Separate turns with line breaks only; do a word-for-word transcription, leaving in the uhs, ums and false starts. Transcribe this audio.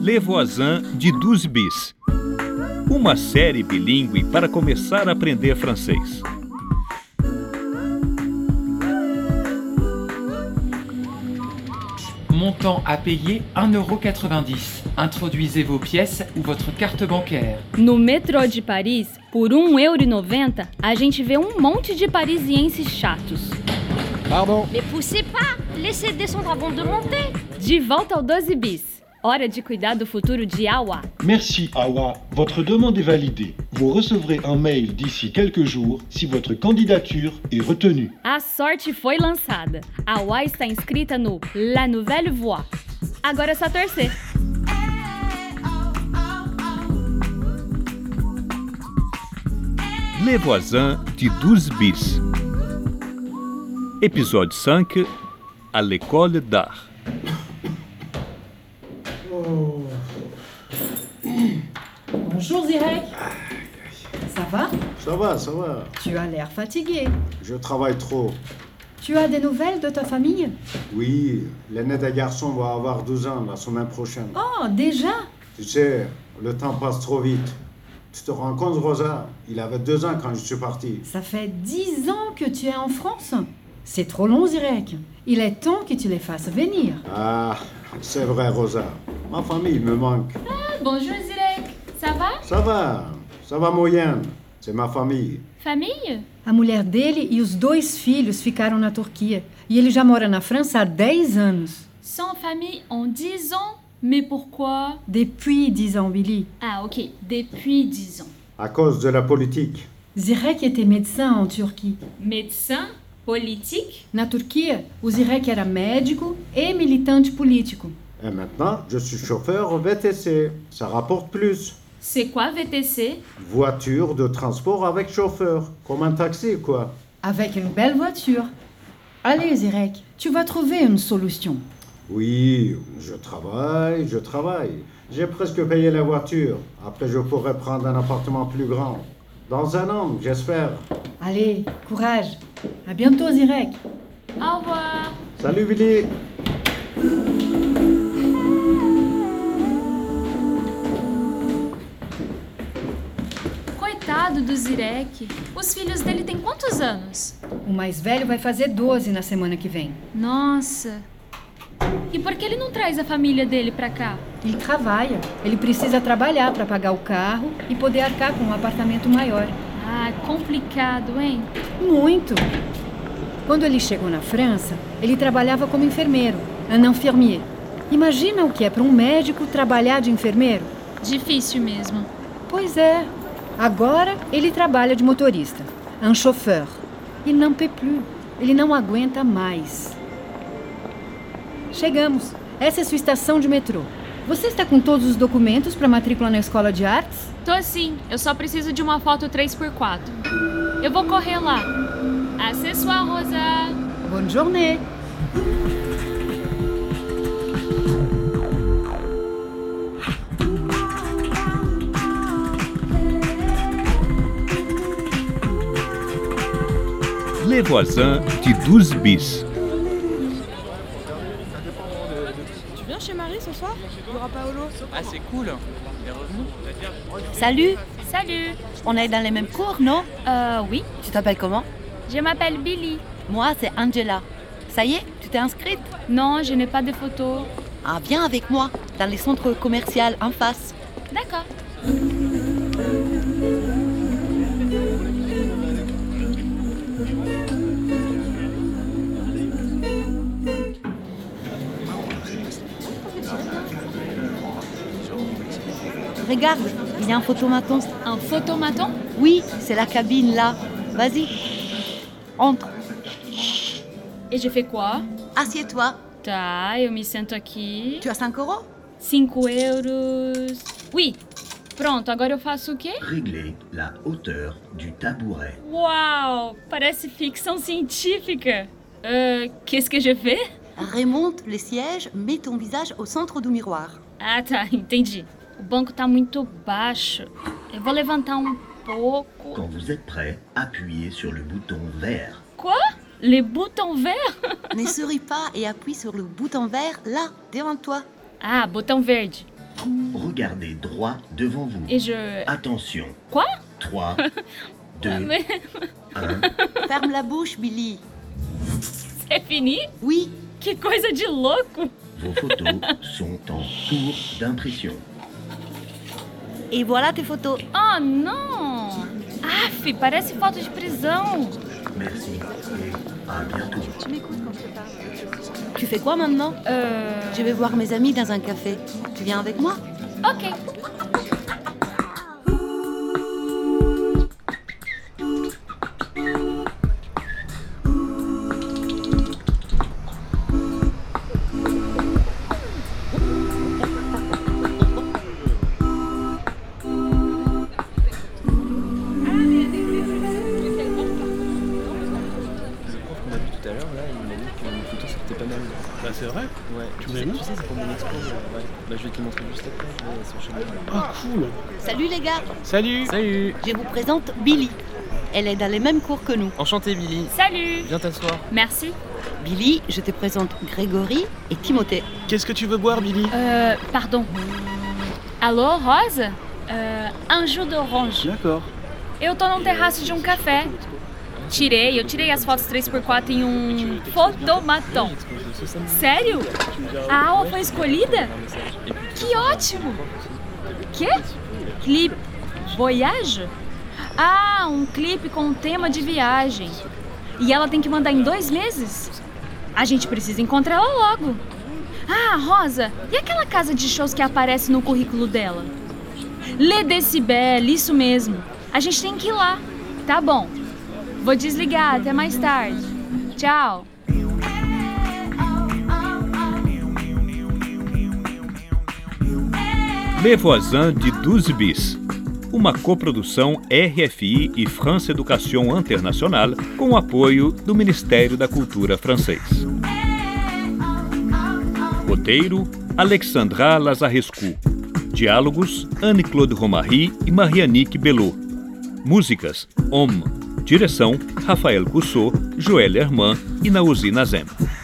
Les Voisins de douze bis. Uma série bilíngue para começar a aprender francês.
Montant à payer un euro quatre-vingt-dix. Introduisez vos pièces ou votre carte bancaire.
No metrô de Paris, por um euro e noventa, a gente vê um monte de parisienses chatos.
Pardon.
Mais poussez pas! Laissez descendre avant de monter!
De volta ao doze bis. Hora de cuidar do futuro de Awa.
Merci, Awa. Votre demande est validée. Vous recevrez un mail d'ici quelques jours si votre candidature est retenue.
A sorte foi lançada. Awa está inscrita no La Nouvelle Voie. Agora é só torcer.
Les Voisins de douze bis. Épisode cinq. À l'école d'art.
Bonjour Zirek. Ça va?
Ça va, ça va.
Tu as l'air fatigué.
Je travaille trop.
Tu as des nouvelles de ta famille?
Oui, l'aîné des garçons va avoir douze ans la semaine prochaine.
Oh, déjà?
Tu sais, le temps passe trop vite. Tu te rends compte, Rosa? Il avait deux ans quand je suis parti.
Ça fait dix ans que tu es en France. C'est trop long, Zirek. Il est temps que tu les fasses venir.
Ah, c'est vrai, Rosa. Ma famille me manque.
Ah, bonjour Zirek. Ça va?
Ça va, ça va moyenne. C'est ma famille.
Famille?
A mulher dele e os dois filhos ficaram na Turquia. E ele já mora na França há dez anos.
Sans famille en dix ans? Mais pourquoi?
Depuis dix ans, Billy.
Ah, ok. Depuis dix ans.
À cause de la politique.
Zirek était médecin en Turquie.
Médecin? Politique?
Na Turquia, o Zirek era médico e militante político.
Et maintenant, je suis chauffeur V T C. Ça rapporte plus.
C'est quoi V T C?
Voiture de transport avec chauffeur. Comme un taxi, quoi.
Avec une belle voiture. Allez, Zirek, tu vas trouver une solution.
Oui, je travaille, je travaille. J'ai presque payé la voiture. Après, je pourrais prendre un appartement plus grand. Dans un an, j'espère.
Allez, courage. À bientôt, Zirek.
Au revoir.
Salut, Billy.
Coitado do Zirek. Os filhos dele têm quantos anos?
O mais velho vai fazer doze na semana que vem.
Nossa. E por que ele não traz a família dele pra cá?
Ele trabalha. Ele precisa trabalhar para pagar o carro e poder arcar com um apartamento maior.
Ah, complicado, hein?
Muito. Quando ele chegou na França, ele trabalhava como enfermeiro, un infirmier. Imagina o que é para um médico trabalhar de enfermeiro?
Difícil mesmo.
Pois é. Agora ele trabalha de motorista, un chauffeur. Il n'en peut plus. Ele não aguenta mais. Chegamos. Essa é sua estação de metrô. Você está com todos os documentos para matrícula na escola de artes?
Tô sim. Eu só preciso de uma foto três por quatro. Eu vou correr lá. À ce soir, Rosa.
Bonne journée.
Les Voisins de douze bis.
Tu viens chez Marie ce soir? Il y aura Paolo.
Ah, c'est cool. Elle est revenue.
Salut,
Salut.
on est dans les mêmes cours, non?
Euh, oui.
Tu t'appelles comment?
Je m'appelle Billy.
Moi, c'est Angela. Ça y est, tu t'es inscrite?
Non, je n'ai pas de photos.
Ah, viens avec moi, dans les centres commerciaux en face.
D'accord.
Regarde, il y a un photomaton.
Un photomaton?
Oui, c'est la cabine là. Vas-y, entre.
Et je fais quoi?
Assieds-toi.
Tá, eu me sento aqui.
Tu as cinq euros?
Cinco euros. Oui. Pronto, agora eu faço o quê?
Régler la hauteur du tabouret.
Uau! Parece ficção científica. Euh, qu'est-ce que je fais?
Remonte les sièges, mets ton visage au centre du miroir.
Ah, tá, entendi. O banco tá muito baixo. Eu vou levantar um pouco.
Quand vous êtes prêt, appuyez sur le bouton vert.
Quoi? Les boutons verts?
Ne souris pas et appuie sur le bouton vert là, devant toi.
Ah, botão verde.
Regardez droit devant vous.
Et je...
Attention.
Quoi?
trois, deux,
Mais
un.
Ferme la bouche, Billy.
c'est fini?
Oui.
Que coisa de louco!
Vos photos sont en cours d'impression.
Et voilà tes photos.
Oh non! Aff, parece foto de prisão.
Merci et à bientôt.
Tu m'écoutes quand je te parle. Tu fais quoi maintenant?
Euh...
Je vais voir mes amis dans un café. Tu viens avec moi?
Ok.
Bah c'est vrai.
Ouais,
tu
sais,
sais,
tu sais, c'est pour mon expo. Ouais. Bah, je vais te le montrer juste après. Je vais sur chez moi.
Ah, cool.
Salut les gars.
Salut.
Salut.
Je vous présente Billy. Elle est dans les mêmes cours que nous.
Enchanté, Billy.
Salut.
Viens t'asseoir.
Merci.
Billy, je te présente Grégory et Timothée.
Qu'est-ce que tu veux boire, Billy?
Euh, pardon. Alô, Rosa? Uh, anjo d'orange.
D'accord.
Eu tô num terraço de um café. Tirei, eu tirei as fotos três por quatro em um fotomaton. Sério? A aula foi escolhida? Que ótimo! Que? Clipe Voyage? Ah, um clipe com um tema de viagem. E ela tem que mandar em dois meses? A gente precisa encontrar ela logo. Ah, Rosa, e aquela casa de shows que aparece no currículo dela? Le Decibel, isso mesmo. A gente tem que ir lá. Tá bom. Vou desligar, até mais tarde. Tchau.
Les Voisins de douze bis. Uma coprodução R F I e France Education International com o apoio do Ministério da Cultura francês. Roteiro, Alexandra Lazarescu. Diálogos, Anne-Claude Romary e Marianique Belot. Músicas, Homme. Direção, Rafael Coussot, Joël Herman e Naouzi Nazem.